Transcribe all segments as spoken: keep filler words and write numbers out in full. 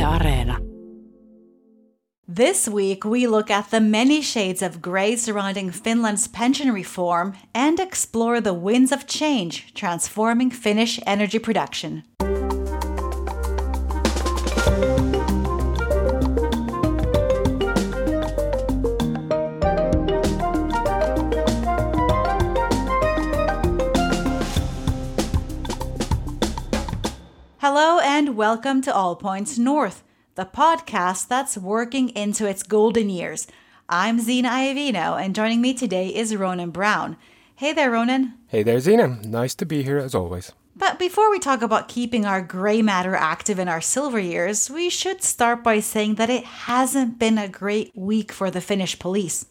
Areena. This week, we look at the many shades of grey surrounding Finland's pension reform and explore the winds of change transforming Finnish energy production. Hello and welcome to All Points North, the podcast that's working into its golden years. I'm Zena Iovino, and joining me today is Ronan Brown. Hey there, Ronan. Hey there, Zena. Nice to be here as always. But before we talk about keeping our grey matter active in our silver years, we should start by saying that it hasn't been a great week for the Finnish police.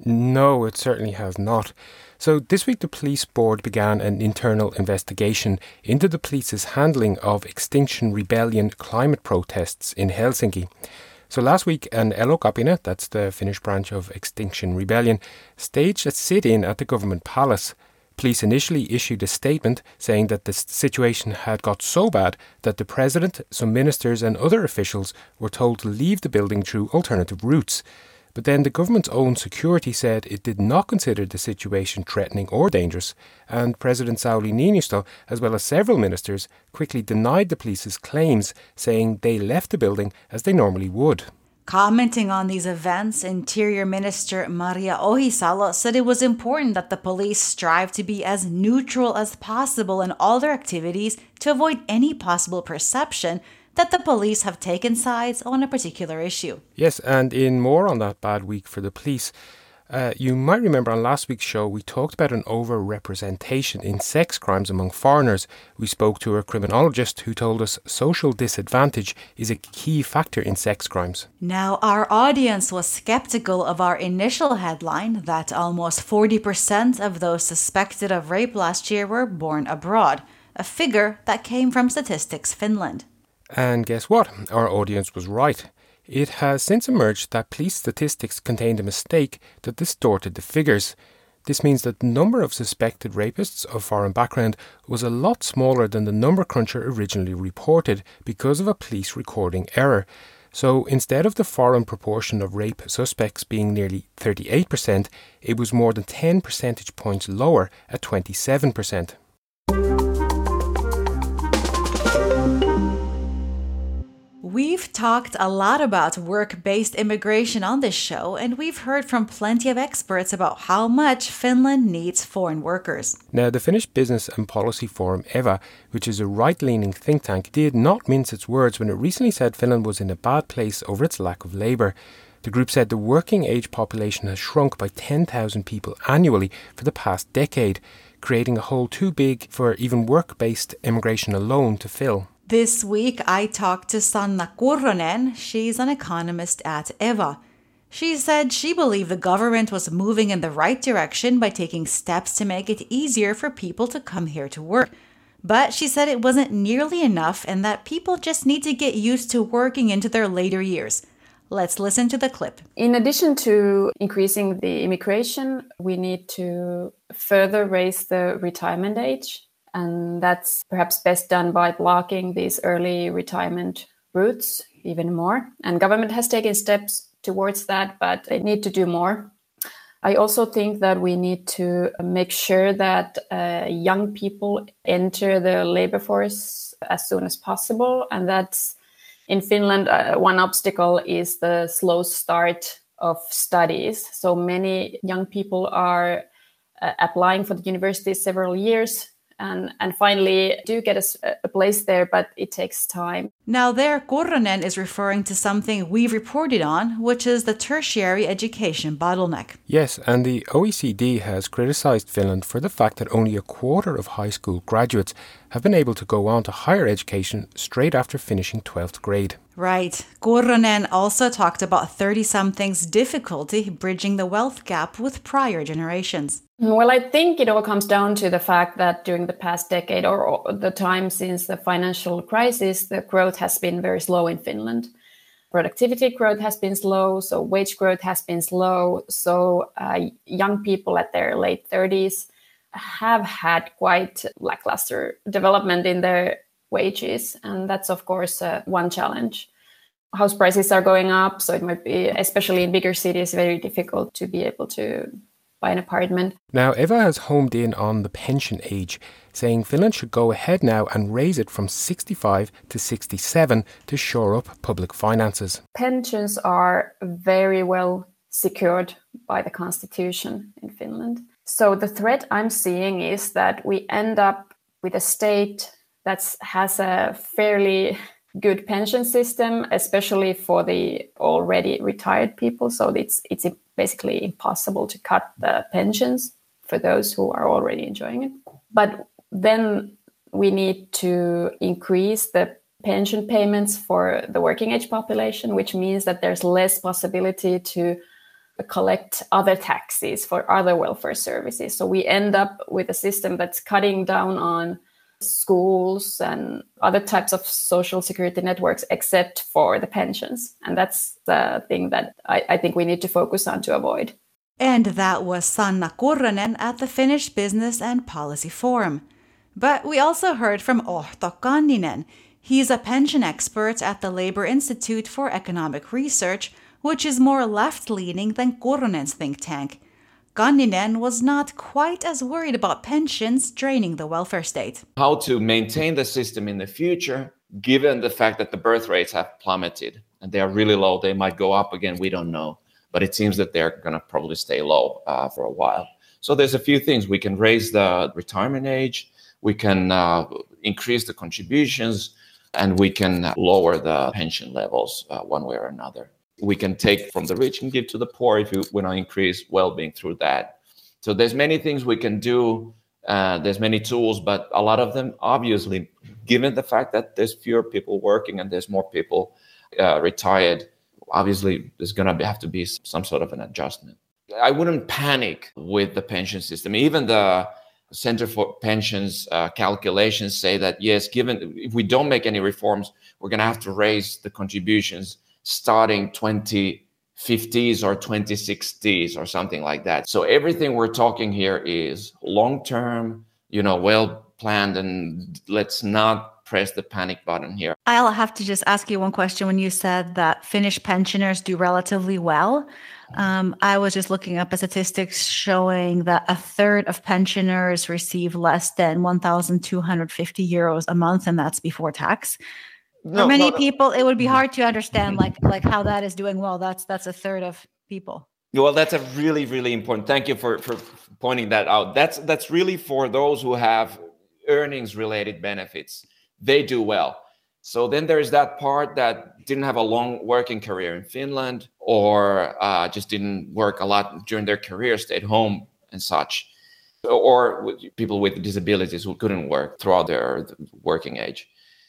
No, it certainly has not. So this week the police board began an internal investigation into the police's handling of Extinction Rebellion climate protests in Helsinki. So last week an Elokapina, that's the Finnish branch of Extinction Rebellion, staged a sit-in at the government palace. Police initially issued a statement saying that the situation had got so bad that the president, some ministers and other officials were told to leave the building through alternative routes. But then the government's own security said it did not consider the situation threatening or dangerous, and President Sauli Niinistö, as well as several ministers, quickly denied the police's claims, saying they left the building as they normally would. Commenting on these events, Interior Minister Maria Ohisalo said it was important that the police strive to be as neutral as possible in all their activities to avoid any possible perception that the police have taken sides on a particular issue. Yes, and in more on that bad week for the police, uh, you might remember on last week's show we talked about an over-representation in sex crimes among foreigners. We spoke to a criminologist who told us social disadvantage is a key factor in sex crimes. Now, our audience was skeptical of our initial headline that almost forty percent of those suspected of rape last year were born abroad, a figure that came from Statistics Finland. And guess what? Our audience was right. It has since emerged that police statistics contained a mistake that distorted the figures. This means that the number of suspected rapists of foreign background was a lot smaller than the number cruncher originally reported because of a police recording error. So instead of the foreign proportion of rape suspects being nearly thirty-eight percent, it was more than ten percentage points lower at twenty-seven percent. We've talked a lot about work-based immigration on this show, and we've heard from plenty of experts about how much Finland needs foreign workers. Now, the Finnish Business and Policy Forum, EVA, which is a right-leaning think tank, did not mince its words when it recently said Finland was in a bad place over its lack of labour. The group said the working-age population has shrunk by ten thousand people annually for the past decade, creating a hole too big for even work-based immigration alone to fill. This week, I talked to Sanna Kurronen. She's an economist at EVA. She said she believed the government was moving in the right direction by taking steps to make it easier for people to come here to work. But she said it wasn't nearly enough and that people just need to get used to working into their later years. Let's listen to the clip. In addition to increasing the immigration, we need to further raise the retirement age. And that's perhaps best done by blocking these early retirement routes even more. And government has taken steps towards that, but they need to do more. I also think that we need to make sure that uh, young people enter the labor force as soon as possible. And that's in Finland, uh, one obstacle is the slow start of studies. So many young people are uh, applying for the university several years And, and finally do get a, a place there, but it takes time. Now there, Kurronen is referring to something we've reported on, which is the tertiary education bottleneck. Yes, and the O E C D has criticised Finland for the fact that only a quarter of high school graduates have been able to go on to higher education straight after finishing twelfth grade. Right. Kurronen also talked about thirty-somethings' difficulty bridging the wealth gap with prior generations. Well, I think it all comes down to the fact that during the past decade or the time since the financial crisis, the growth has been very slow in Finland. Productivity growth has been slow, so wage growth has been slow. So uh, young people at their late thirties have had quite lackluster development in their wages. And that's, of course, uh, one challenge. house prices are going up. So it might be, especially in bigger cities, very difficult to be able to buy an apartment. Now, Eva has homed in on the pension age, saying Finland should go ahead now and raise it from sixty-five to sixty-seven to shore up public finances. Pensions are very well secured by the constitution in Finland. So the threat I'm seeing is that we end up with a state that has a fairly good pension system, especially for the already retired people. So it's it's basically impossible to cut the pensions for those who are already enjoying it. But then we need to increase the pension payments for the working age population, which means that there's less possibility to collect other taxes for other welfare services. So we end up with a system that's cutting down on schools and other types of social security networks, except for the pensions. And that's the thing that I, I think we need to focus on to avoid. And that was Sanna Kurronen at the Finnish Business and Policy Forum. But we also heard from Ohto Kanninen. He's a pension expert at the Labour Institute for Economic Research, which is more left-leaning than Kurronen's think tank. Kanninen was not quite as worried about pensions draining the welfare state. How to maintain the system in the future, given the fact that the birth rates have plummeted and they are really low. They might go up again, we don't know. But it seems that they're going to probably stay low uh, for a while. So there's a few things. We can raise the retirement age, we can uh, increase the contributions, and we can lower the pension levels uh, one way or another. We can take from the rich and give to the poor if we want to increase well-being through that. So there's many things we can do. Uh, there's many tools, but a lot of them, obviously, given the fact that there's fewer people working and there's more people uh, retired, obviously there's going to have to be some sort of an adjustment. I wouldn't panic with the pension system. Even the Center for Pensions uh, calculations say that, yes, given if we don't make any reforms, we're going to have to raise the contributions starting twenty fifties or twenty sixties or something like that. So everything we're talking here is long-term, you know, well-planned, and let's not press the panic button here. I'll have to just ask you one question. When you said that Finnish pensioners do relatively well, um, I was just looking up at statistics showing that a third of pensioners receive less than one thousand two hundred fifty euros a month, and that's before tax. No, For many no, no. people, it would be hard to understand like like how that is doing well. That's that's a third of people. Well, that's a really, really important. Thank you for, for pointing that out. That's that's really for those who have earnings-related benefits. They do well. So then there's that part that didn't have a long working career in Finland, or uh, just didn't work a lot during their career, stayed home and such, or with people with disabilities who couldn't work throughout their working age.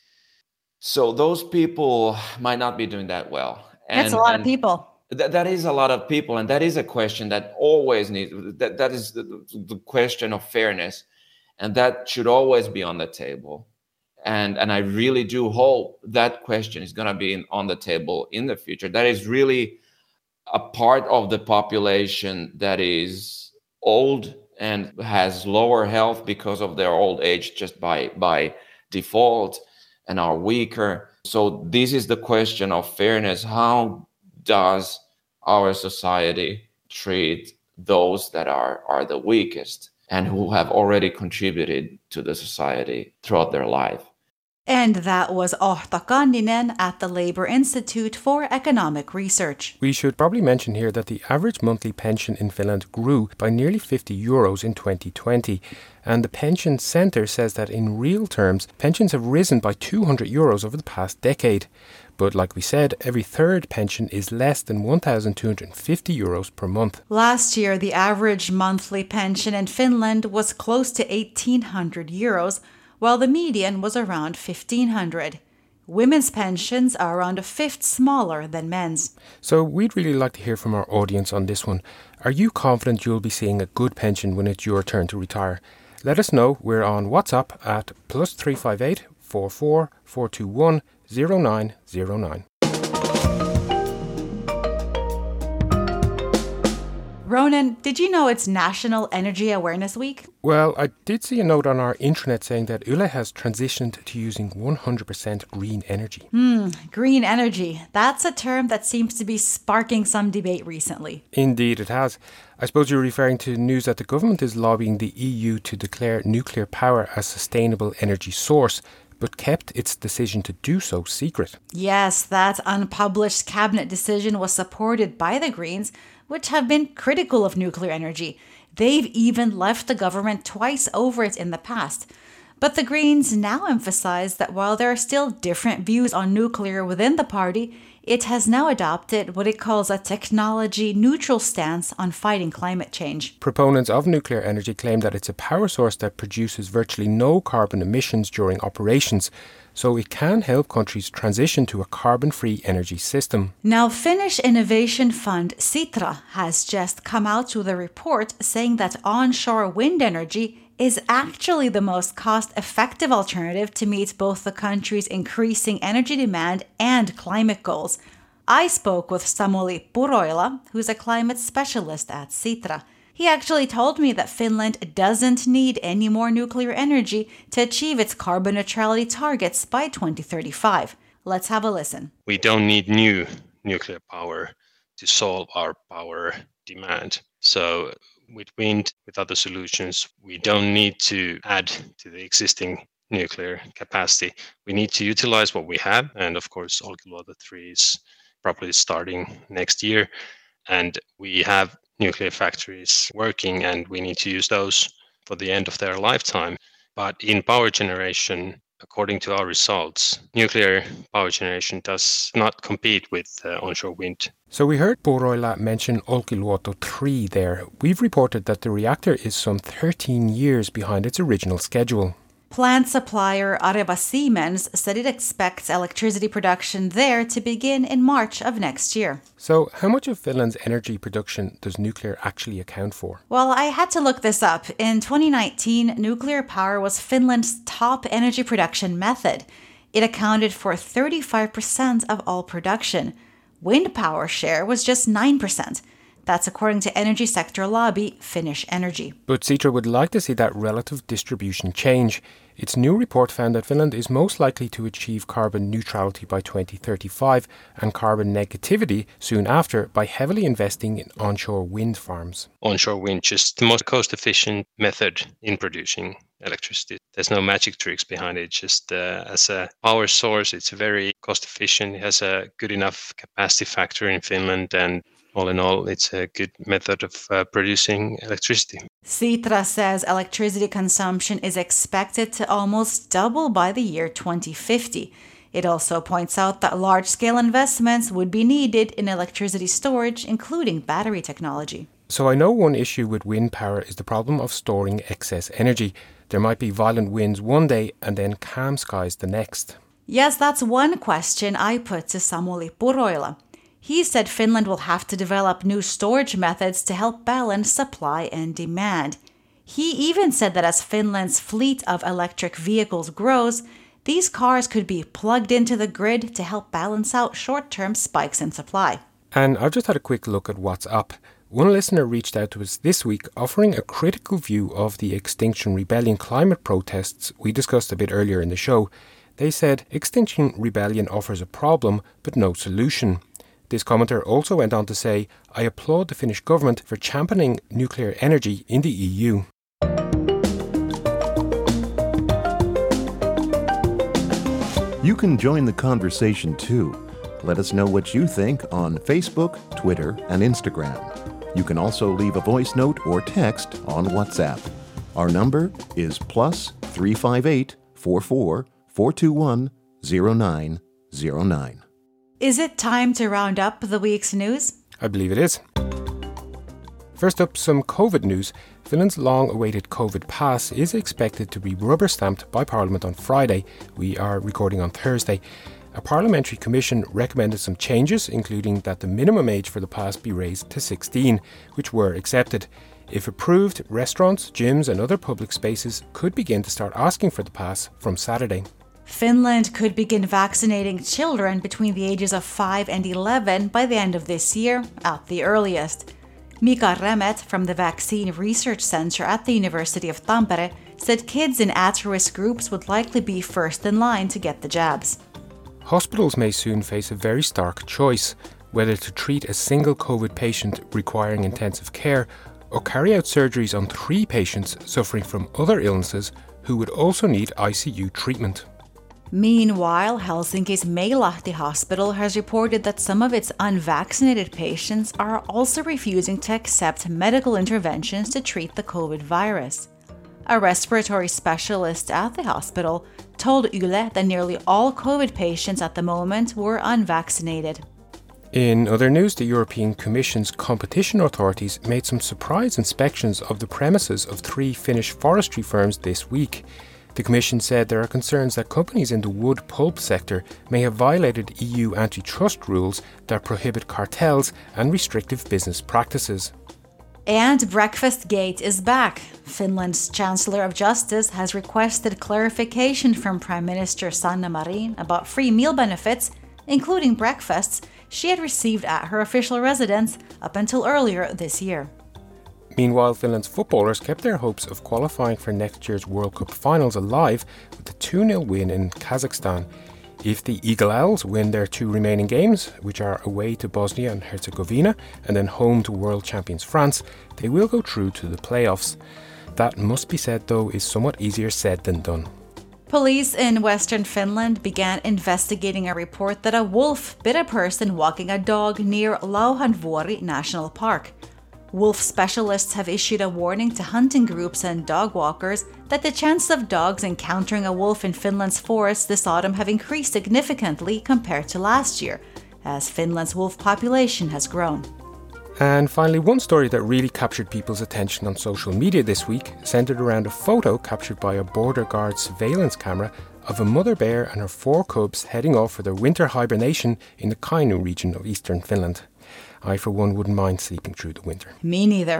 So those people might not be doing that well. And, That's a lot and of people. Th- that is a lot of people. And that is a question that always needs, that, that is the, the question of fairness. And that should always be on the table. And, and I really do hope that question is going to be in, on the table in the future. That is really a part of the population that is old and has lower health because of their old age just by, by default, and are weaker. So this is the question of fairness. How does our society treat those that are, are the weakest and who have already contributed to the society throughout their life? And that was Ohto Kanninen at the Labour Institute for Economic Research. We should probably mention here that the average monthly pension in Finland grew by nearly fifty euros in twenty twenty. And the Pension Centre says that in real terms, pensions have risen by two hundred euros over the past decade. But like we said, every third pension is less than one thousand two hundred fifty euros per month. Last year, the average monthly pension in Finland was close to eighteen hundred euros, while the median was around fifteen hundred. Women's pensions are around a fifth smaller than men's. So we'd really like to hear from our audience on this one. Are you confident you'll be seeing a good pension when it's your turn to retire? Let us know. We're on WhatsApp at plus three five eight, four four, four two one, zero nine zero nine. Ronan, did you know it's National Energy Awareness Week? Well, I did see a note on our intranet saying that Yle has transitioned to using one hundred percent green energy. Hmm, green energy. That's a term that seems to be sparking some debate recently. Indeed, it has. I suppose you're referring to news that the government is lobbying the E U to declare nuclear power a sustainable energy source, but kept its decision to do so secret. Yes, that unpublished cabinet decision was supported by the Greens, which have been critical of nuclear energy. They've even left the government twice over it in the past. But the Greens now emphasize that while there are still different views on nuclear within the party, it has now adopted what it calls a technology-neutral stance on fighting climate change. Proponents of nuclear energy claim that it's a power source that produces virtually no carbon emissions during operations, so it can help countries transition to a carbon-free energy system. Now, Finnish innovation fund Sitra has just come out with a report saying that onshore wind energy is actually the most cost-effective alternative to meet both the country's increasing energy demand and climate goals. I spoke with Samuli Puroila, who's a climate specialist at Sitra. He actually told me that Finland doesn't need any more nuclear energy to achieve its carbon neutrality targets by twenty thirty-five. Let's have a listen. We don't need new nuclear power to solve our power demand. So with wind, with other solutions, we don't need to add to the existing nuclear capacity. We need to utilize what we have. And of course, Olkiluoto three is probably starting next year. And we have nuclear factories working, and we need to use those for the end of their lifetime. But in power generation, according to our results, nuclear power generation does not compete with uh, onshore wind. So we heard Puroila mention Olkiluoto three there. We've reported that the reactor is some thirteen years behind its original schedule. Plant supplier Areva Siemens said it expects electricity production there to begin in March of next year. So how much of Finland's energy production does nuclear actually account for? Well, I had to look this up. In twenty nineteen, nuclear power was Finland's top energy production method. It accounted for thirty-five percent of all production. Wind power share was just nine percent. That's according to energy sector lobby Finnish Energy. But Sitra would like to see that relative distribution change. Its new report found that Finland is most likely to achieve carbon neutrality by twenty thirty-five and carbon negativity soon after by heavily investing in onshore wind farms. Onshore wind, just the most cost-efficient method in producing electricity. There's no magic tricks behind it. Just uh, as a power source, it's very cost-efficient. It has a good enough capacity factor in Finland, and all in all, it's a good method of uh, producing electricity. Sitra says electricity consumption is expected to almost double by the year twenty fifty. It also points out that large-scale investments would be needed in electricity storage, including battery technology. So I know one issue with wind power is the problem of storing excess energy. There might be violent winds one day and then calm skies the next. Yes, that's one question I put to Samuli Puroila. He said Finland will have to develop new storage methods to help balance supply and demand. He even said that as Finland's fleet of electric vehicles grows, these cars could be plugged into the grid to help balance out short-term spikes in supply. And I've just had a quick look at what's up. One listener reached out to us this week offering a critical view of the Extinction Rebellion climate protests we discussed a bit earlier in the show. They said Extinction Rebellion offers a problem but no solution. This commenter also went on to say, I applaud the Finnish government for championing nuclear energy in the E U. You can join the conversation too. Let us know what you think on Facebook, Twitter, and Instagram. You can also leave a voice note or text on WhatsApp. Our number is plus three five eight, four four, four two one, zero nine zero nine. Is it time to round up the week's news? I believe it is. First up, some COVID news. Finland's long-awaited COVID pass is expected to be rubber-stamped by Parliament on Friday. We are recording on Thursday. A parliamentary commission recommended some changes, including that the minimum age for the pass be raised to sixteen, which were accepted. If approved, restaurants, gyms and other public spaces could begin to start asking for the pass from Saturday. Finland could begin vaccinating children between the ages of five and eleven by the end of this year, at the earliest. Mika Remet from the Vaccine Research Center at the University of Tampere said kids in at-risk groups would likely be first in line to get the jabs. Hospitals may soon face a very stark choice, whether to treat a single COVID patient requiring intensive care or carry out surgeries on three patients suffering from other illnesses who would also need I C U treatment. Meanwhile, Helsinki's Meilahti Hospital has reported that some of its unvaccinated patients are also refusing to accept medical interventions to treat the COVID virus. A respiratory specialist at the hospital told Yle that nearly all COVID patients at the moment were unvaccinated. In other news, the European Commission's competition authorities made some surprise inspections of the premises of three Finnish forestry firms this week. The Commission said there are concerns that companies in the wood pulp sector may have violated E U antitrust rules that prohibit cartels and restrictive business practices. And Breakfast Gate is back. Finland's Chancellor of Justice has requested clarification from Prime Minister Sanna Marin about free meal benefits, including breakfasts, she had received at her official residence up until earlier this year. Meanwhile, Finland's footballers kept their hopes of qualifying for next year's World Cup finals alive with a two nil win in Kazakhstan. If the Eagle Owls win their two remaining games, which are away to Bosnia and Herzegovina and then home to world champions France, they will go through to the playoffs. That, must be said though, is somewhat easier said than done. Police in western Finland began investigating a report that a wolf bit a person walking a dog near Lauhanvuori National Park. Wolf specialists have issued a warning to hunting groups and dog walkers that the chances of dogs encountering a wolf in Finland's forests this autumn have increased significantly compared to last year, as Finland's wolf population has grown. And finally, one story that really captured people's attention on social media this week centered around a photo captured by a border guard surveillance camera of a mother bear and her four cubs heading off for their winter hibernation in the Kainuu region of eastern Finland. I, for one, wouldn't mind sleeping through the winter. Me neither.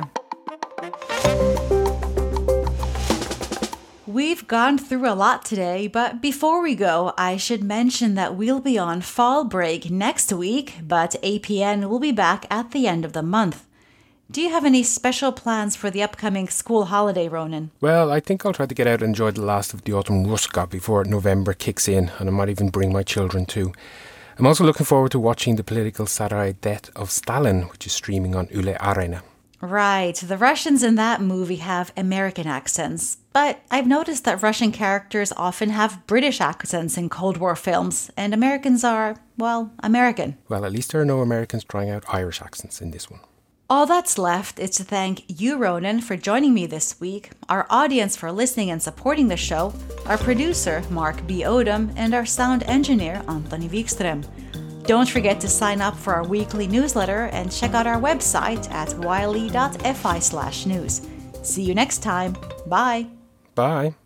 We've gone through a lot today, but before we go, I should mention that we'll be on fall break next week, but A P N will be back at the end of the month. Do you have any special plans for the upcoming school holiday, Ronan? Well, I think I'll try to get out and enjoy the last of the autumn ruska before November kicks in, and I might even bring my children too. I'm also looking forward to watching the political satire Death of Stalin, which is streaming on Yle Areena. Right, the Russians in that movie have American accents, but I've noticed that Russian characters often have British accents in Cold War films, and Americans are, well, American. Well, at least there are no Americans trying out Irish accents in this one. All that's left is to thank you, Ronan, for joining me this week, our audience for listening and supporting the show, our producer, Mark B. Odom, and our sound engineer, Antoni Wikström. Don't forget to sign up for our weekly newsletter and check out our website at yle dot fi slash news. See you next time. Bye. Bye.